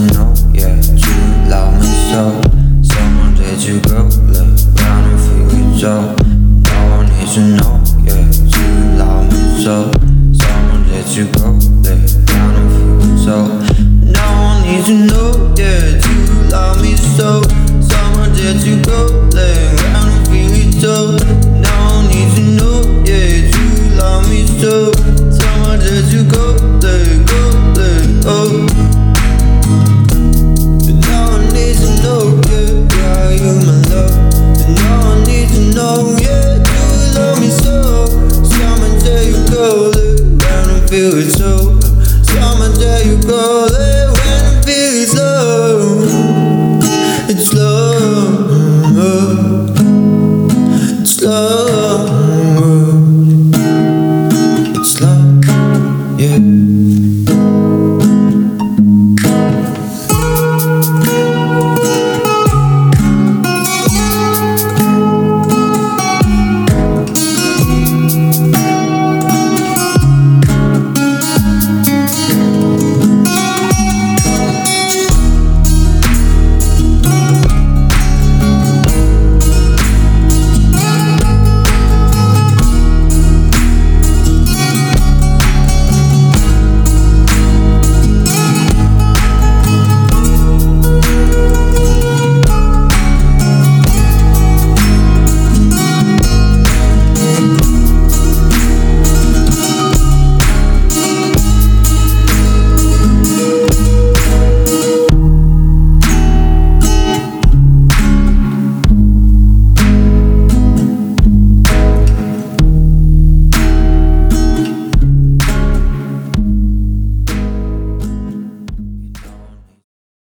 know, yeah, you love me so. Someone let you go, look round and feel it so. No one needs to know, yeah, you love me so. Someone let you go, look round and feel it so. No one needs to know, yeah, you love me so.